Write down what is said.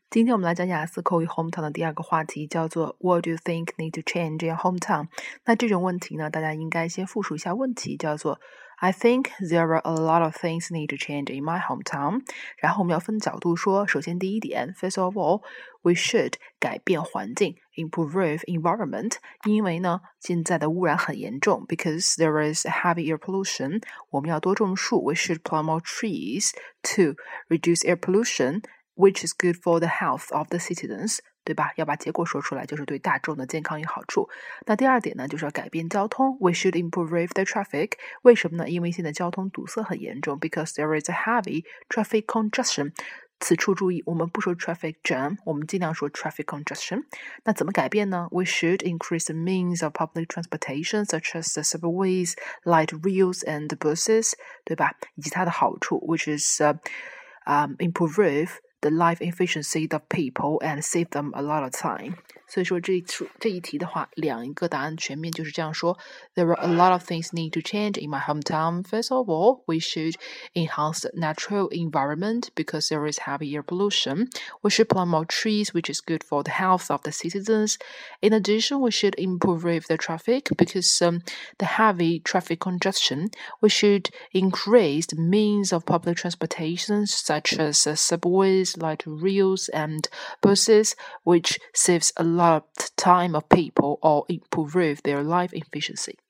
今天我们来讲雅思口语 hometown 的第二个话题，叫做 What do you think need to change in your hometown？ 那这种问题呢，大家应该先复述一下问题，叫做 I think there are a lot of things need to change in my hometown。然后我们要分角度说，首先第一点 ，First of all, we should 改变环境 ，improve environment， 因为呢，现在的污染很严重 ，because there is heavy air pollution， 我们要多种树 ，we should plant more trees to reduce air pollution。Which is good for the health of the citizens， 对吧？要把结果说出来，就是对大众的健康有好处。那第二点呢，就是要改变交通 ，We should improve the traffic。为什么呢？因为现在交通堵塞很严重 ，because there is a heavy traffic congestion。此处注意，我们不说 traffic jam， 我们尽量说 traffic congestion。那怎么改变呢？ We should increase the means of public transportation, such as the subways, light rails, and buses， 对吧？以及它的好处 ，which is improve the life efficiency of people and save them a lot of time。 所以说这一题的话，两个答案全面就是这样说 There are a lot of things need to change in my hometown. First of all, we should enhance the natural environment because there is heavy air pollution. We should plant more trees, which is good for the health of the citizens. In addition, we should improve the traffic because the heavy traffic congestion. We should increase the means of public transportation such as subways, light rails, and buses, which saves a lot of time of people or improve their life efficiency.